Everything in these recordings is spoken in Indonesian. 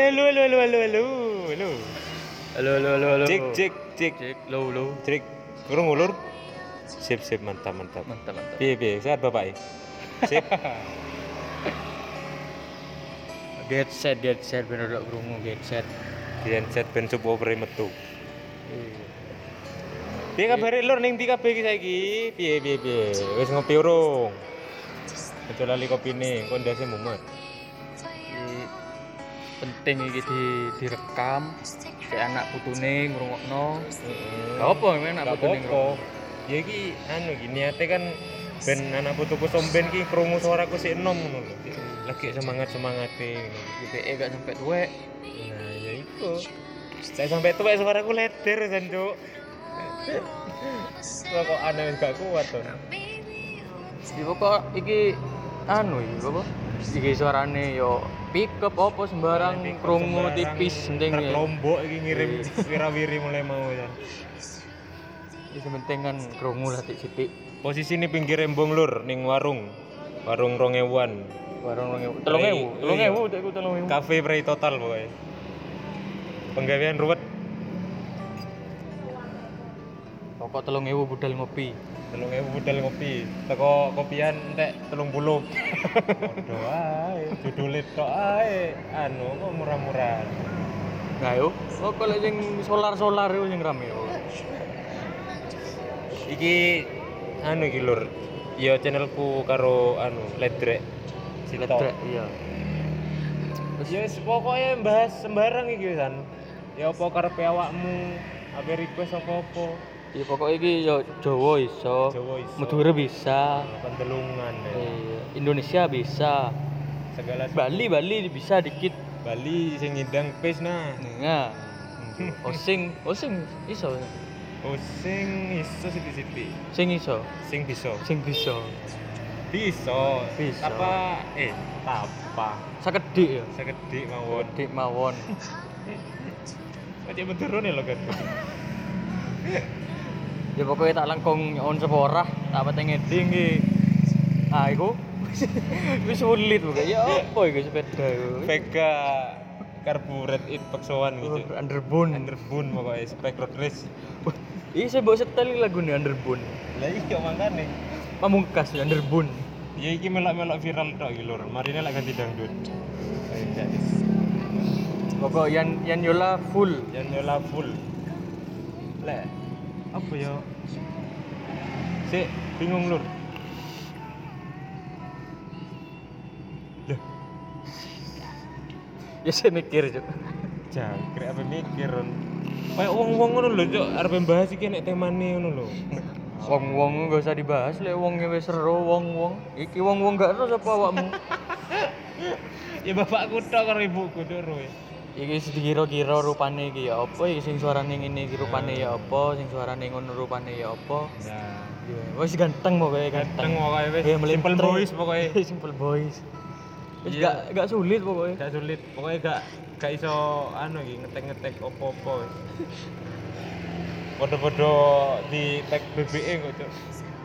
Halo, halo, halo, halo, halo, halo. Halo, halo, halo, halo. Cek, cek, cek. Cek, lo. Cek. Kurang ulur. Sip, sip, mantap, mantap. Mantap. Piye, piye, sehat Bapak? Sip. Get set bener dak krungu get set. Genset ben subwoofer metu. Iya. Piye kabare lur ning ndi kabeh iki saiki? Piye, piye, piye. Wis ngopi urung? Aja lali kopine, kok ndase mumet. Iki penting iki direkam cek anak putune ngrungokno. Gak apa men anak putune ngrungokno. Ya iki anu iki niate kan ben anak putuku somben ki krungu suaraku sik enom ngono lho. Lagi semangat-semangate ngono. IPE gak sampai tuwek. Nah, ya iku. Saya sampai tuwek suaraku leder jan, Cuk. Kok aneh gak kuat to. Iki pokok iki anu iki apa? Iki suarane yo pick up apa sembarang krungu tipis penting ya. Lombok iki ngirim wirawiri mulai mau ya. Iki penting kan krungu lah titik. Posisi ini pinggir embong lur ning warung 2000-an. Warung 3000 tek ku 3000. Cafe Prey total pokoknya. Penggawean ruwet. Pokok 3000 budal ngopi. 3000 budal ngopi. Teko kopian entek 30. Padha ae, judule tok ae. Anu kok murah-murahan. Nah yo, kok lek sing solar iku sing rame yo. Iki anu iki lur. Ya channelku karo anu Ledrek. Ledrek iya. Ya wis pokoke bahas sembarang iki kan. Ya apa karepe awakmu, ape request apa-apa. Ya pokoknya iki yo Jawa iso. Madura bisa. Pendelungan ya. Iya, Indonesia bisa. Segala Bali bisa dikit. Bali sing ngidang pes nah. Nah. Osing iso. Sing iso sithik-sithik. Sing iso. Sing bisa. Bisa. Tapa. Sakedhik ya. Sakedhik mawon. Dik mawon. Macam turun ya lo kan. Ya pokoknya tak langkung on seporah, tak pateng ngeding iki. Ah iku wis sulit pokoknya. Ya apa iku sepeda iku? Vega Carburet it paksoan gitu. Underbone pokoknya spek road race. Iya saya bawa setel lagu nih Underbone. Lah iya makane. Pamungkas Underbone. Ya iki melok-melok viral tok iki lur. Marine lek ganti dangdut. Pokok Yan Yola full. Lek apa ya? Sik bingung lur. Lah, Ya saya mikir cuk. jangkrik apa mikir. Kayak wong-wong ngono lho, Cuk, arep bahas iki nek temane ngono lho. Wong gak usah dibahas lek wonge wis seru wong. Iki wong gak ero sapa awakmu? Ya bapakku tok karo ibuku tok ro. Iki dikira-kira rupane iki ya apa iki sing suarane ngene iki rupane ya apa, sing suarane ngono rupane ya apa. Nah, Wis ganteng pokoke ganteng pokoke wis simple boys pokoke. Simple boys. Wis Iya. gak sulit pokoke. Gak sulit, pokoknya gak iso anu iki ngetek-ngetek opo-opo wis. Podo-podo di tag BBE kok, Cuk.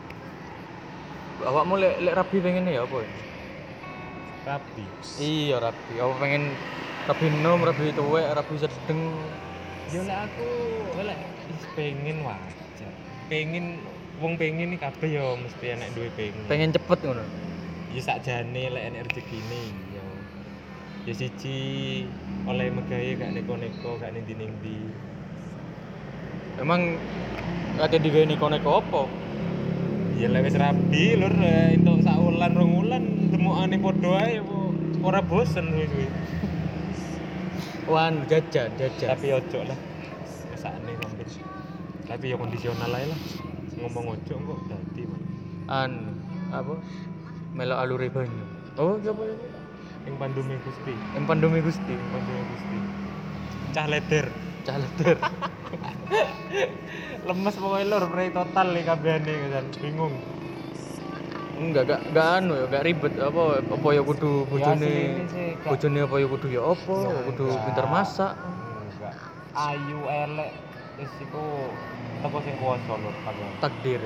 Awakmu lek rabi pengen ya apa? Rapi. Iya rabi. Apa pengen rabi enom, rabi tuwek, rabi sedeng. Ya lek aku lek pengen wajar. Wong pengen iki kabeh ya mesti enek duwe pengen. Pengen cepet ngono. Ya sakjane lek enek rezekine ya. Ya siji oleh megawe gak neko-neko, gak ning-ndi. Emang kate digawe neko-neko apa? Ya lek wis rabi lur entuk sak wulan rong wulan demokane padha ae ora bosen suwi-suwi. Wan jajan. Tapi ojo lah. Kesane sambil. Tapi ya kondisional ae lah. Ngomong ojo kok dadi, Man. Apa? Melo alure banyu. Oh, apa ya? Ing Pandume Gusti. Pandemi Gusti. Cah leder. Lemes pokoknya lur, prei total nih kabehane kan. Bingung. Enggak anu ya, gak ribet apa ya kudu bojone. Bojone apa ya kudu ya apa, kudu pinter masak. Enggak. Ayu elek wis iku teko sing kuwasa lur kabeh. Takdir.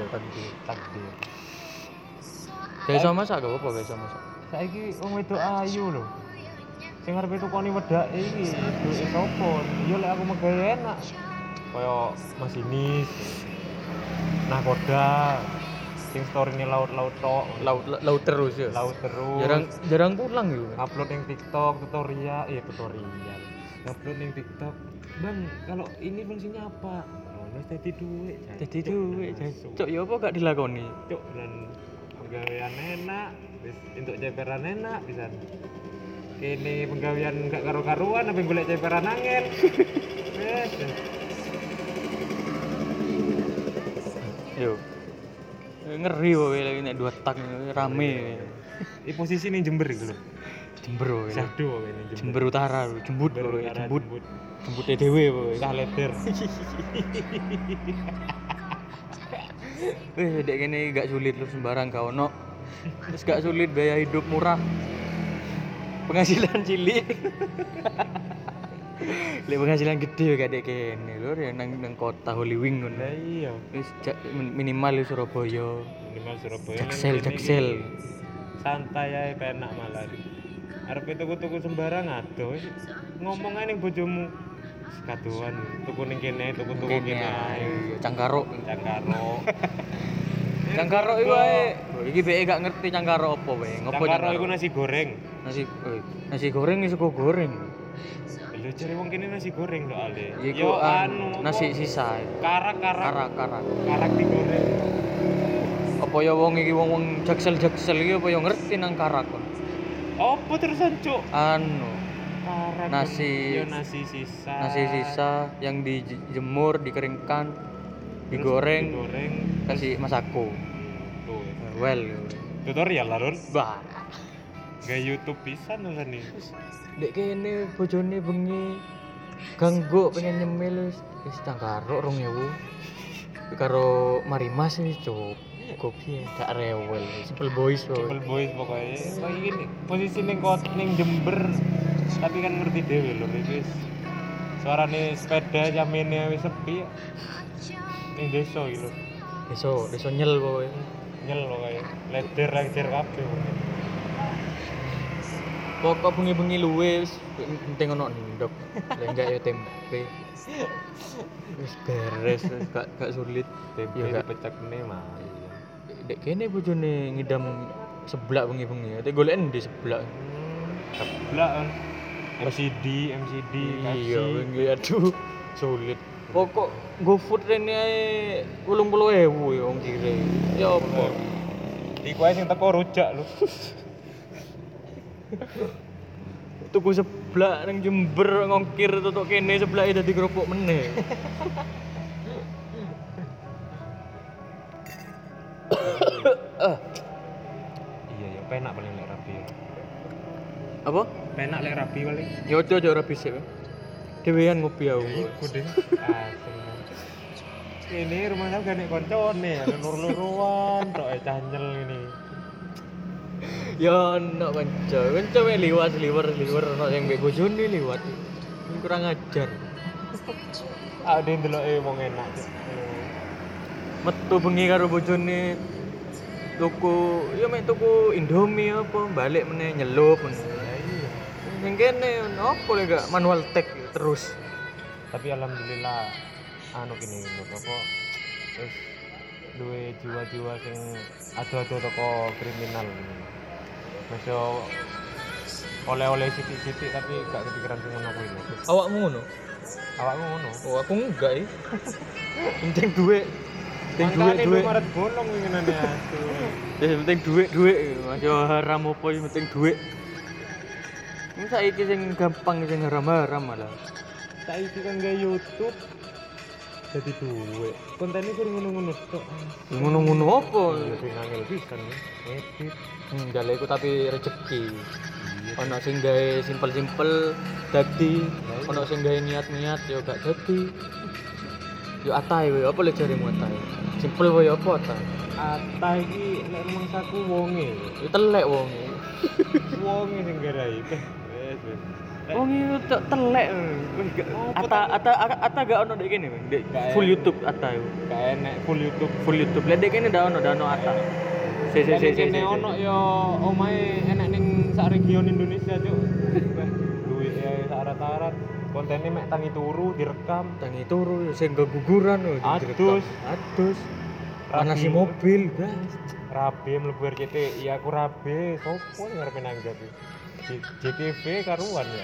Takdir. Gak iso masak gak apa gak iso masak. Saiki wong wedok ayu lho. Sing arepe tukoni wedake iki duwe sapa? Yo lek aku megawe enak. Kaya masinis. Nakoda. Sing story-ne laut-laut tok. Laut terus ya. Laut terus. Jarang pulang yo. Upload yang TikTok tutorial. Upload yang TikTok. Bang, kalau ini fungsinya apa? Wis dadi duit. Jadi duit. Cok yo apa gak dilakoni? Cuk dan penggawean enak, wis entuk ceperan enak pisan. Kene penggawean gak karo-karuan apa golek ceperan angel. Wes. Yo. Ngeri wae lagi nek 2 tak rame. Di posisi ning Jember iku lho. Jember wae. Sado wae ning Jember Utara, jembut Jember wae, Utara, jembut. Jembute dhewe wae. Cah leder. Dek kene gak sulit lu sembarang gak ono. Terus gak sulit biaya hidup murah. Penghasilan cilik. Lek penghasilan gede gak dek kene lho ya nang kota Hollywood ngono. Lah iya, Wis minimal di Surabaya. minimal Surabaya. Jaksel. Santai ae penak malah. Arep tuku-tuku sembarang adoh. Ngomong ae ning bojomu. Kaduan tuku ning kene, tuku-tuku kene ae. Cangkaro. Cangkaro. Cangkaro iku ae. Iki beke gak ngerti cangkaro apa wae. Ngopo Cangkaro cangkaro? iku nasi goreng. Nasi goreng iso goreng. Lho jare wong kene nasi goreng lho ale. Iku nasi sisa. Karak Karak. digoreng. Apa ya wong iki wong jaksel iki apa ya ngerti nang karak kon. Apa terusan cuk? Karak. Nasi sisa yang dijemur, dikeringkan, digoreng, kasih masako. Tuh. Well, Tutorial lah, Ron. bah. Gak YouTube pisan lah nih. Dek kene bojone bengi ganggu pengen nyemil wis cangkaro 2000. Karo Marimas wis cuk. Kopi gak rewel, simple boys Simple boys pokoknya. Kayak gini, posisi ning Jember. Tapi kan ngerti dhewe lho iki wis. Suarane sepeda jamene wis sepi. Ning desa iki lho. Desa nyel pokoke. Nyel lho kae. Leder kabeh. Pokok bengi-bengi luwe wis penting ono ndok. Lek enggak ya tempe. Wis beres, wis gak sulit. Tempe Ya, Kak. dipecekne mah. Dek kene bojone ngidam seblak bengi-bengi. Ate goleken di seblak. Seblak kan. MCD, Iya, kasih. bengi aduh sulit. Pokok GoFood rene ae 80.000 ya wong kire. Ya apa? Iku ae sing teko rujak lho. Tuku seblak nang Jember ngongkir tutuk kene seblake dadi kerupuk meneh. Iya ya, penak paling lek rapi. Apa? Penak lek rapi paling. Ya ojo ora bisik. Dhewean ngopi aku. Iku deh. Ini rumah saya gak nek koncone, lur-luruan tok cah nyel ini. Ya ono kanca wae liwat ono sing mbek bojone liwat. Kurang ajar. Ade ndeloke wong enak. Metu bengi karo bojone tuku tuku Indomie apa balik meneh nyelup meneh. Iya. Ning kene opo lek gak manual tag terus. Tapi alhamdulillah anu kene menurut apa wis duwe jiwa-jiwa sing ado-ado teko kriminal. Masih oleh-oleh sithik-sithik tapi gak kepikiran sing ngono kuwi. Awakmu ngono? Awakmu ngono. Oh, aku enggak ya. Penting duit. Mangkane duit maret bolong winginane atuh. Penting duit. Masih haram apa yang penting duit. Ini saiki sing gampang sing haram-haram malah. Saiki kan gak YouTube. Jadi duit. Kontennya kudu ngono-ngono tok. Ngono-ngono apa? Lebih ngangel pisan ya. Edit. Enggak iku tapi rezeki. Ono sing gawe simpel-simpel dadi, ono sing gawe niat-niat ya gak dadi. Yo atai wae, apa lek jarimu atai? Simpel wae apa atai? Atah iki nek rumangsaku wonge. Ya telek wonge. Wonge sing garai. Wes. Wonge telek. Ata gak ono dek kene, Dek. Full YouTube ata yo. Gak enek full YouTube. Lek dek kene ndak ono ata. Kene ono yo omahe enek ning sak region Indonesia, Cuk. bangsat. Kontennya mek tangi turu direkam. tangi turu sing keguguran lho Adus. adus Rabi. manasi mobil guys Rabe mlebu RCT, iya aku rabe, sopo yang ngarepe nanggap iki? JKV karuan ya.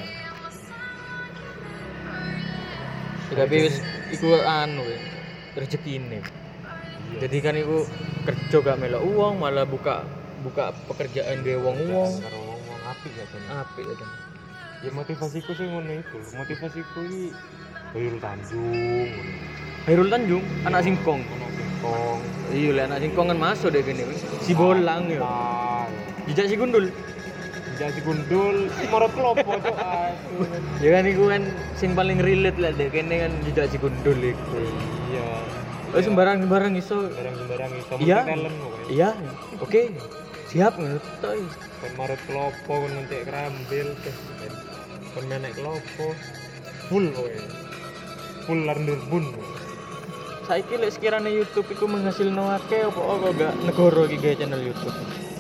tapi wis iku anu rezekine Iya. jadi kan iku kerja gak melok uang malah buka pekerjaan dhewe wong-wong Karo wong apik ya Jan. apik ya kan Ya motivasiku sih ngono iku. Motivasiku iki Hairul Tanjung. Hairul Tanjung anak singkong Anak singkong. iya lah anak singkong kan masuk deh gini si bolang ya Ah, jejak si gundul Jadi si gundul, si morot klopo cok. Aduh. ya kan iku kan sing paling relate lah deh kene kan jejak si gundul iku Iya. oh sembarang iso Sembarang iso Iya. talent pokoknya. iya oke siap ngono toh Kon marut klopo kon ngentek kerambil kon menek klopo full kowe full larndur bun saiki lek sekiranya YouTube iku menghasilno akeh apa kok gak negara iki gawe channel YouTube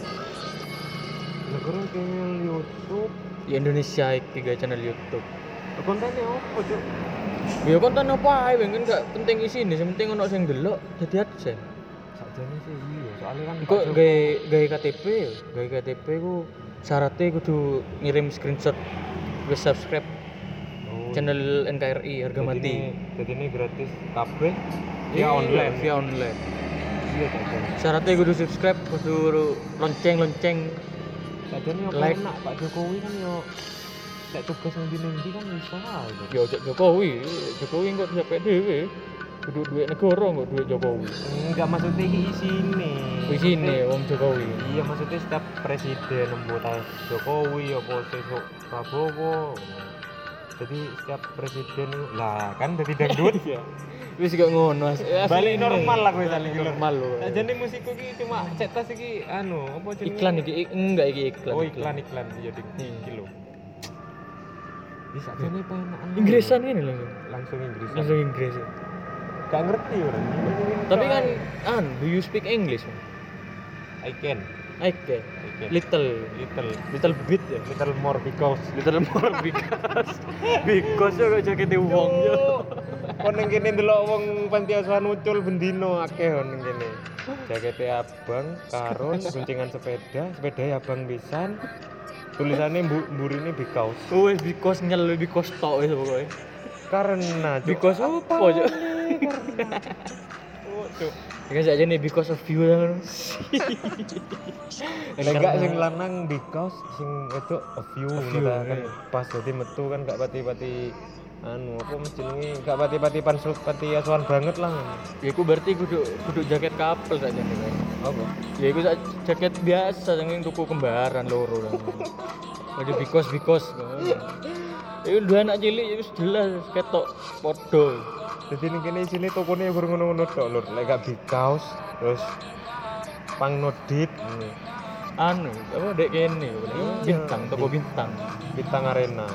negara channel YouTube di Indonesia iki gawe channel YouTube kontennya apa cuk ya konten apa ae kan gak penting isine sing penting ono sing delok dadi adsense sakjane sih iya soalnya kan kok gawe KTP ya gawe KTP ku syaratnya kudu ngirim screenshot wis subscribe channel NKRI harga mati jadi ini gratis kabeh via online via online iya sakjane syaratnya kudu subscribe kudu lonceng sakjane apa Like. enak Pak Jokowi kan yo nek tugas nang ndi kan iso ae Cuk. ya ojo Jokowi kok bisa dhewe kudu duit negara kok duit Jokowi enggak maksudnya iki isine isine wong Jokowi iya maksudnya setiap presiden membuat Jokowi apa sesuk Prabowo jadi setiap presiden lah kan jadi dangdut ya wis gak ngono balik normal lah kowe saling normal lho nah, jadi musikku iki cuma cetas iki anu apa jenenge iklan iki enggak iki iklan oh iklan iya ding Hmm. iki lho bisa jane penakan Inggrisan ini lho langsung Inggris langsung Inggris gak ngerti orang tapi kan do you speak English I can I can little bit ya little more because little more because ya kok jakete wong yo kon ning kene ndelok wong panti asuhan ucul bendino akeh ning kene jakete abang karun guncingan sepeda abang pisan tulisannya mburine because oh because nyel because tok wis pokoke karena Cuk. because apa yo Oh, Cuk. kan aja nih because of you kan Enggak sing lanang because sing itu a few few, kan iya. pas jadi metu kan gak pati-pati anu apa jenenge gak pati-pati pansut pati asuhan banget lah. ya iku berarti kudu jaket couple saja nih kan Apa? ya iku jaket biasa yang tuku kembaran loro kan ada because itu dua anak cilik itu jelas ketok podo Jadi ning kene isine tokone baru ngono-ngono tok lur. Lek gak bikaus terus pang nodit ini. anu apa dek kene bintang toko bintang Bintang Arena.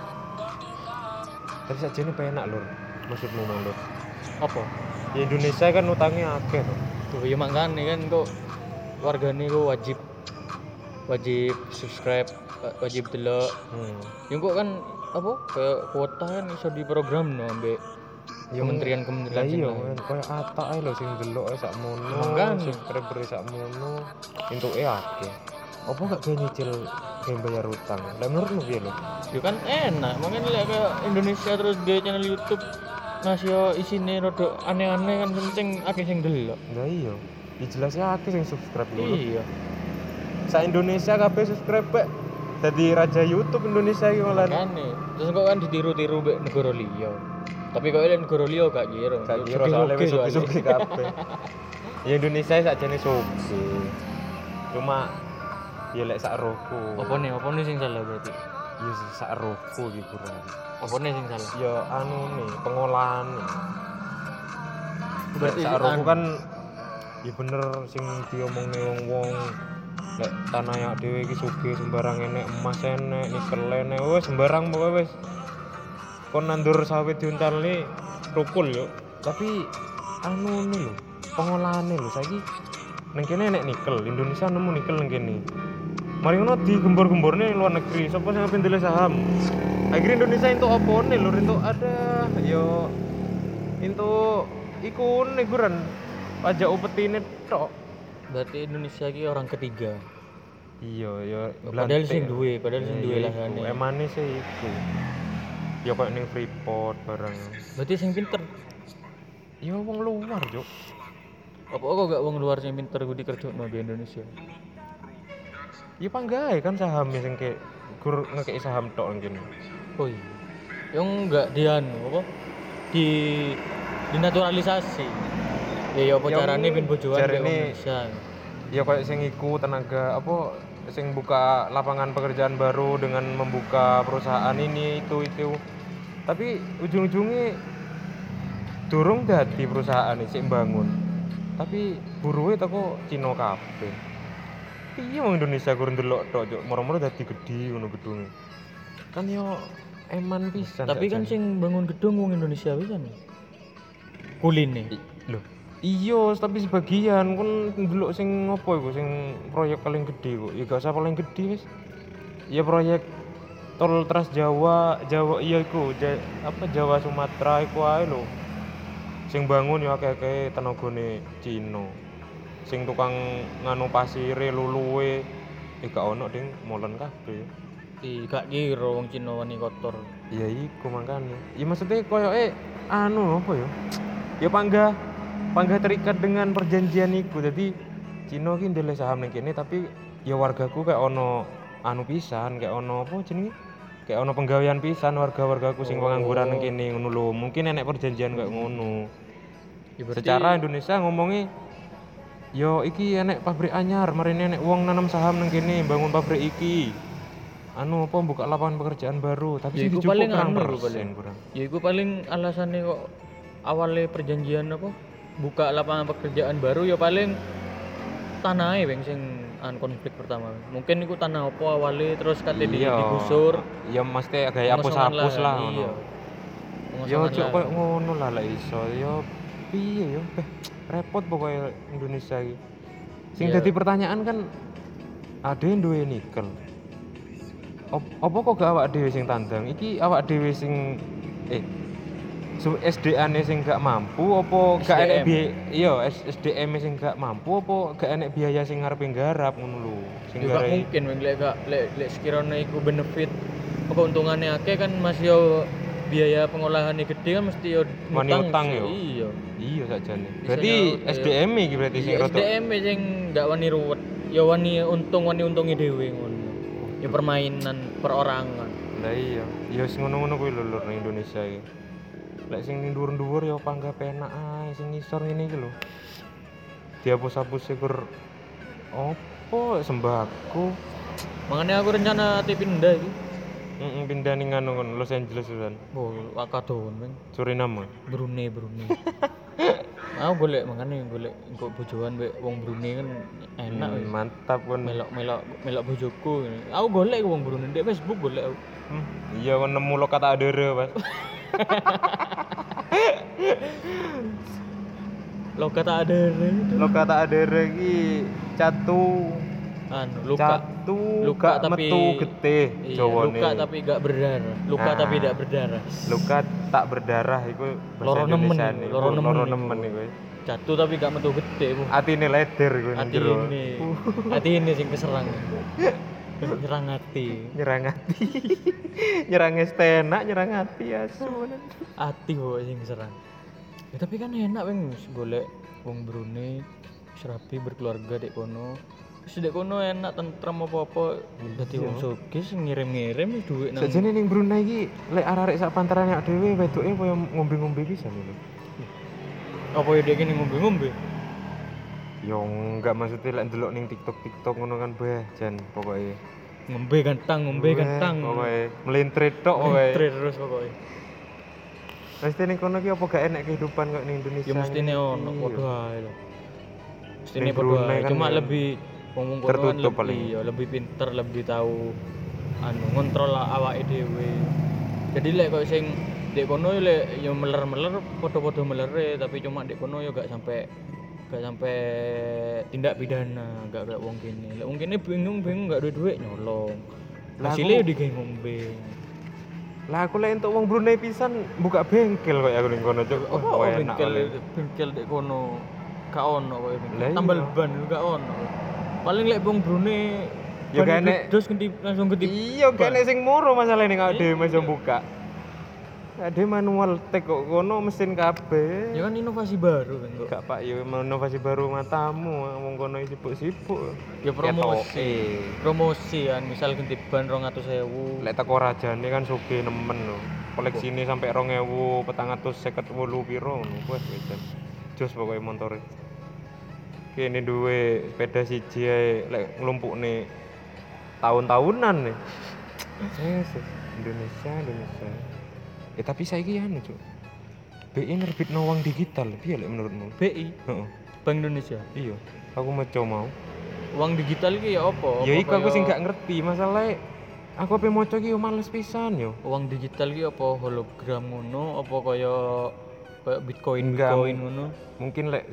Tapi sajane penak lur. Maksudmu mau lur. apa Di Indonesia kan utangnya akeh to. tuh ya makanya kan kok wargane kok wajib subscribe wajib delok yang kok kan apa kayak kuota kan iso di program no ambek kementerian sing iya lain. men koyo atak ae lho sing delok sak mono Makanya. subscriber sak mono entuke akeh apa gak kayak nyicil kayak bayar utang lah menurutmu piye lho Ya kan enak, makanya lihat kayak Indonesia terus di channel YouTube ngasih yo isine rada aneh-aneh kan penting akeh sing delok. lah iya ya jelasnya akeh sing subscribe lho Iya. sa Indonesia kabeh subscribe pak dadi raja YouTube Indonesia iki malah Makane, terus kok kan ditiru-tiru mbek negara liya. Tapi kok ini negara liya gak kira. gak kira soalnya wis suki kabeh ya Indonesia sakjane suki cuma ya lek sak rohku Apa nih sing salah berarti? ya sak rohku iki kurang Apa nih sing salah? ya anu nih pengolahan Berarti sak rohku anu. kan ya bener sing diomongne wong-wong lek tanah yak dhewe iki sugih sembarang enek emas enek nikel enek wis sembarang pokoke wis kon nandur sawit diuntalne rukul yo tapi anu nih lho pengolahane lho saiki nang kene enek nikel Indonesia nemu nikel nang kene mari ngono digembor-gemborne luar negeri sapa sing ape ndelok saham Akhirnya Indonesia itu apa nih lur, itu ada yo itu iku neguran pajak upetine tok. Berarti Indonesia ki orang ketiga. Iya ya Padahal sing duwe lahane. Emane sih iku. Ya kayak ning Freeport bareng. Berarti sing pinter. Ya wong luar, Cuk. Apa kok gak wong luar sing pinter kudu dikerjokno di Indonesia? Ya panggae kan saham sing kayak gur ngekeki saham tok nang kene. Oh iya. Yang enggak apa? Di dinaturalisasi. Ya apa Yang carane ben bojoan jarene- di Indonesia. Ya kayak sing iku tenaga apa sing buka lapangan pekerjaan baru dengan membuka perusahaan ini itu. Tapi ujung-ujungnya durung dadi perusahaan sik bangun. Tapi buruhe teko Cina kabeh. Iya wong Indonesia kurang ndelok tok, Cuk. Moro-moro dadi gedhi ngono gedunge. Kan yo eman pisan. Tapi kan sing bangun gedung wong Indonesia pisan. Kuline. Loh, iya, tapi sebagian kan ndelok sing ngopo iku sing proyek paling gede kok. Ya gak usah paling gede wis. Ya proyek tol Trans Jawa, iya iku, Jawa Sumatera iku ae lho. Sing bangun ya akeh-akeh tenagane Cina. Sing tukang nganu pasire luluwe gak ono ding molen kabeh. Gak kira wong Cina wani kotor. Ya iku makane. Ya maksudnya koyoke anu apa ya? Ya panggah terikat dengan perjanjian iku. Jadi Cina ki ndelok saham ning kene tapi ya wargaku kayak ono anu pisan, kayak ono apa jenenge? Kayak ono penggawean pisan warga-wargaku sing pengangguran ning kene ngono lho. Mungkin enek perjanjian kayak ngono. Ya berarti Secara Indonesia ngomongnya yo iki enek pabrik anyar, marine enek wong nanam saham nang kene bangun pabrik iki. Anu apa buka lapangan pekerjaan baru, tapi ya sing iku dicukup paling kurang anu lho persen paling. kurang. Ya iku paling alasane kok awalnya perjanjian apa? Buka lapangan pekerjaan baru ya paling tanahe weng sing konflik pertama. Mungkin iku tanah apa awalnya terus kate digusur. Ya mesti gaya hapus-hapus lah Iya. ngono. Yo cuk koyo ngono lah lek iso. Yo piye yo? Repot pokoknya Indonesia iki. Sing dadi pertanyaan kan ada yang duwe nikel. Apa kok gak awak dhewe sing tandang? Iki awak dhewe sing SDA-ne sing gak mampu apa gak enek SDM sing gak mampu apa gak enek biaya sing ngarepe nggarap ngono lho. Sing gak mungkin weng lek sekiranya iku benefit keuntungannya akeh kan masih yo biaya pengolahannya gede kan mesti yo utang yo. Iya sakjane. Berarti SDM iki berarti sing rada SDM sing gak wani ruwet. Ya wani untunge dhewe ngono. Ya permainan perorangan. Lah iya. Ya wis ngono-ngono kuwi lho lur nang Indonesia iki. Lek sing ning dhuwur-dhuwur ya panggah penak ae, sing ngisor ngene iki lho. Dihapus-hapus kur opo sembako. Makanya aku rencana pindah iki. Pindah ning anu Los Angeles kan. Oh, akadon men. Suriname. Brunei. Aku golek engko bojoan mbek wong Brunei kan enak wis. Mantap kon. Melok bojoku. Aku golek wong Brunei ndek Facebook golek aku. Iya kon nemu lo kata adere, Mas. Lo kata adere iki catu luka tapi metu getih Jawane. Luka tapi gak berdarah. Tapi tidak berdarah. Luka tak berdarah iku bahasa Indonesia nih. Loro nemen iku. Catu tapi gak metu getih. Atine leder iku ning jero. Atine sing keserang. Nyerang hati. Nyerang estena, nyerang hati asu. Hati kok sing keserang. Ya tapi kan enak weng golek wong Brunei serapi berkeluarga dek kono. Wis dek kono enak tentrem apa-apa. Dadi wong sugih ngirim-ngirim dhuwit nang. Sajane ning Brunei iki lek arek-arek sak pantaran awake dhewe wedoke koyo ngombe-ngombe pisan lho. Apa ya dek ini ngombe-ngombe? Yo enggak maksudnya lek ndelok ning TikTok ngono kan beh jan pokoke. Ngombe gantang. Pokoke melintrit tok pokoke. Melintrit terus pokoke. Mesti ning kono ki apa gak enak kehidupan kok ning Indonesia. Ya mestine ono padha ae lho. Mestine padha ae. Cuma lebih wong kono lebih pinter, lebih tahu ngontrol awake dhewe. Jadi lek kok sing dek kono lek yo meler-meler padha-padha melere, tapi cuma dek kono yo gak sampai tindak pidana, gak kayak wong kene. Lek wong kene bingung gak duwe duit nyolong. Hasilnya yo digawe ngombe. Lah aku lek entuk wong Brunei pisan buka bengkel kok aku ning kono cuk. Apa Wah, enak kali. bengkel dek kono gak ono koyo Lah bengkel. iya. Tambal ban gak ono. Paling lek wong Brunei Ya gak enek. terus ganti langsung ganti. Iya, gak enek sing moro masalah ning awake dhewe Iya. iso buka. Ade manual tag kok kono mesin kabeh. Ya kan inovasi baru kan kok. Gak Pak, ya inovasi baru matamu wong kono sibuk-sibuk. Ya promosi. Ketoke. Promosi kan misal ganti ban 200.000. Lek teko rajane kan sugih nemen lho. Koleksine sampai 2000, 458 piro ngono. Wes wedan. Jos pokoke montore. Kene duwe sepeda siji ae lek nglumpukne tahun-tahunan nih. Indonesia. Tapi saiki anu, Cuk. BI nerbitno uang digital, piye lek menurutmu? BI, Heeh. Bank Indonesia. Iya, aku maca mau. Uang digital iki ya apa? Ya Apa iku aku kaya- sing gak ngerti, masalahnya aku ape maca iki yo males pisan yo. Uang digital iki apa hologram ngono apa kaya Bitcoin Enggak, ngono? Mungkin lek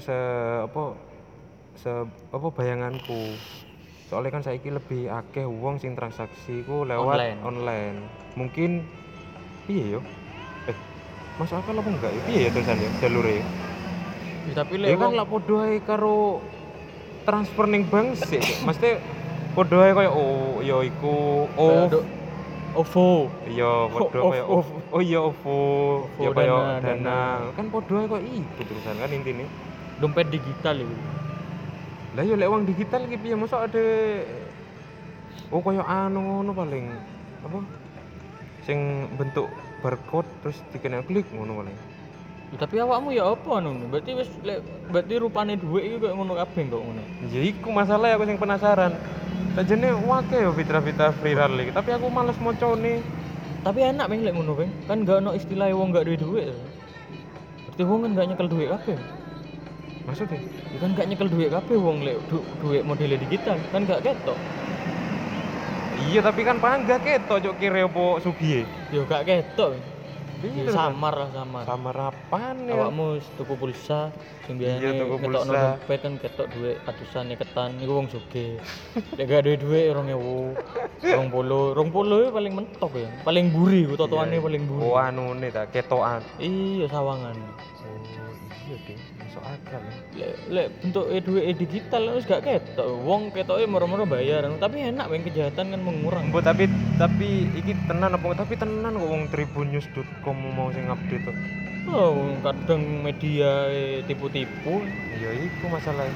apa bayanganku. Soalnya kan saiki lebih akeh wong sing transaksi ku lewat online. Mungkin piye yo? Masuk akal apa enggak ya? Piye ya terusan ya jalure ya? Ya, tapi Ya lek kan lah podo ae karo transfer ning bank sih. Mesti podo ae koyo ya iku OVO. iya podo koyo OVO. iya OVO. Ya OVO, koyo Dana. Dana. Kan podo ae koyo iku terusan kan intine. Dompet digital itu. Lah ya lek uang digital iki piye mosok ada koyo anu ngono paling apa? Sing bentuk barcode terus dikena klik ngono paling. Ya, tapi awakmu ya apa anu? Berarti rupane dhuwit iki koyo ngono kabeh kok ngono. Ya iku masalah aku sing penasaran. Sajane wake yo fitrah-fitrah viral iki, tapi aku males mocone. Tapi enak meh lek ngono kan. Kan gak ono istilah wong gak duwe dhuwit. Berarti wong kan gak nyekel dhuwit kabeh. Maksudnya? Ya kan gak nyekel dhuwit kabeh wong lek dhuwit modele digital kan gak ketok. Iya tapi kan panggah ketok cuk kire opo sugihe. Ya gak ketok. Iya, Ya, samar lah samar. Samar apaan ya? Awakmu tuku pulsa sing Iya, biasane tuku ketokno pulsa. dompet kan ketok dhuwit atusan ketan iku wong sugih. Lek gak duwe dhuwit 2000, 20 paling mentok ya. Paling buri ku totoane paling buri. Oh anune ta ketokan. Iya sawangan. Oh iya deh, masuk akal ya. Lek bentuk duit digital wis gak ketok. Wong ketoke moro-moro bayar, tapi enak wong kejahatan kan mengurang. Mbok tapi iki tenan apa tapi tenan kok wong tribunnews.com mau sing update tuh. Oh, kadang media tipu-tipu. Ya iku masalah.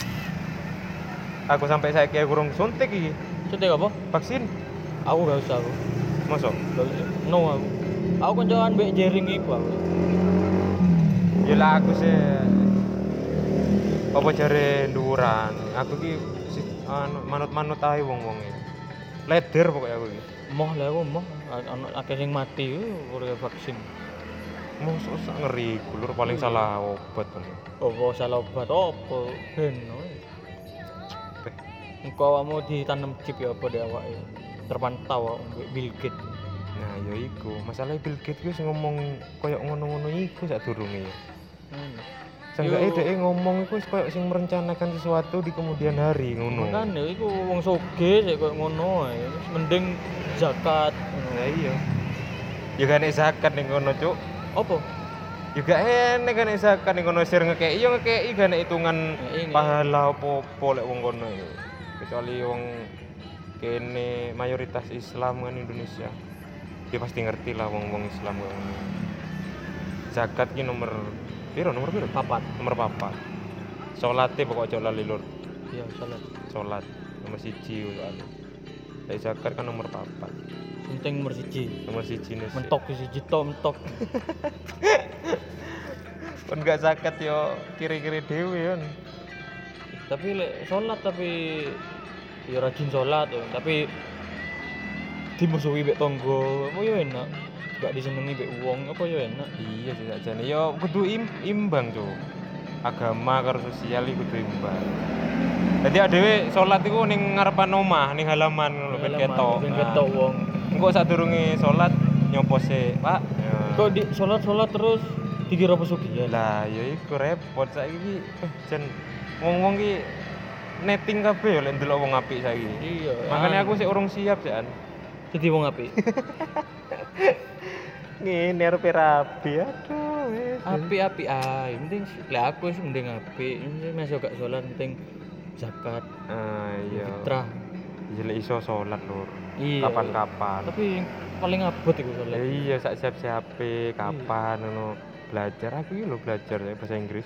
Aku sampai saiki kurang suntik iki. Suntik apa? Vaksin. Aku gak usah aku. Mosok? Gak usah. No aku. Aku kancakan mbek jering iku aku. Ya lah aku sih apa jare nduwuran. Aku ki manut-manut ae wong-wonge. Leder pokoknya aku iki. Moh lah aku moh ana akeh sing mati ora vaksin. Mosok sak ngeri kulur paling salah obat kan. Apa salah obat apa ben. Engko awakmu ditanam chip ya apa dek awake. Terpantau mbek Bill Gates. Nah, ya iku. Masalah Bill Gates wis ngomong koyo ngono-ngono iku sadurunge ya. Seenggaknya dia ngomong iku wis koyo sing merencanakan sesuatu di kemudian hari ngono. Kan ya iku wong sugih sik koyo ngono ae. Wis mending zakat ngono. Nah iya. Ya gak nek zakat ning kono, Cuk. Apa? Ya gak enek kan nek zakat ning kono sir ngekeki ya ngekeki gak nek hitungan Ngekeki. pahala apa-apa lek wong kono ya. Kecuali wong kene mayoritas Islam kan Indonesia. Dia pasti ngerti lah wong-wong Islam kan. Zakat ki nomor piro? Nomor 4. Nomor 4. Salate pokok aja lali lur. Iya, salat. Salat nomor 1 soalnya. Lek zakat kan nomor 4. Penting nomor 1. Nomor 1 nih. Mentok siji tok mentok. Kon gak zakat yo kiri-kiri dhewe kan. Tapi lek salat tapi ya rajin salat tapi dimusuhi mbek tangga apa ya enak. Gak disenengi mbek wong apa ya enak. Iya sih sakjane yo kudu imbang, Cuk. Agama karo sosial iki kudu imbang. Dadi dhewe salat iku ning ngarepan omah, ning halaman ngono ben ketok. Ben ketok wong. Engko sadurunge salat nyopo sik, Pak. Ya. Kok di salat terus dikira pesugihan. Lah ya iku repot saiki jan wong-wong ki netting kabeh ya lek ndelok wong apik saiki. Iya. Makanya aku sik urung siap sik an. Jadi wong apik. Ngene arep rabi. Aduh, wis. Api ae. Penting lek aku sih mending api. Masih gak sholat penting zakat, Iya. fitrah. Jelek iso salat lur. Iya. Kapan-kapan. Tapi yang paling abot iku sholat. Iya, sak siap-siape kapan ngono. Belajar aku iki lho belajar bahasa Inggris.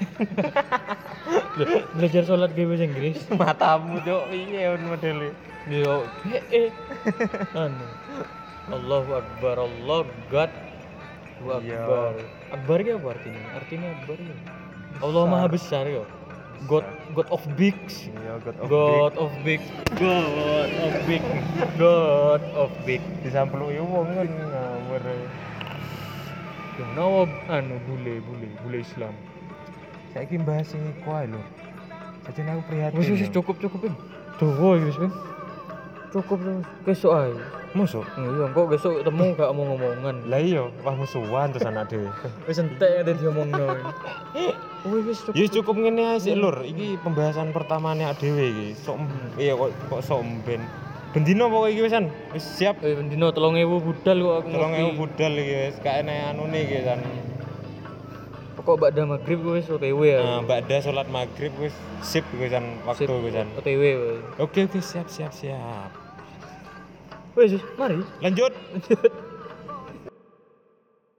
Belajar sholat ge bahasa Inggris. Matamu, Cuk. Piye modele? Yo, anu. Allahu Akbar, Allah God. Allahu Iya. Akbar. Akbar ki apa artinya? Artinya Akbar ya. Allah Maha Besar yo. God of bigs. Iya, God of big. God of big. God of big. Disampluki wong kan ngawur. Kenapa anu bule Islam. Saiki bahas sing iku ae lho. Sajane aku prihatin. Wis cukup kan. Tuh wis kan. Cukup besok ae. Musuh. Iya, kok besok ketemu gak omong-omongan. Lah iya, wah musuhan terus anak dhewe. Wis entek ada diomongno. Wis cukup. Ya cukup ngene ae sik lur. Iki pembahasan pertamane awake dhewe iki. Sok iya kok sok mben. Bendino pokoke iki wisan. Wis siap. Bendino 3.000 budal kok aku. 3.000 budal iki wis gak enek anune iki kan. Pokok bakda maghrib wis OTW ya. Nah, bakda salat maghrib wis sip wisan waktu wisan. OTW wis. Oke, siap. Wis, mari. Lanjut.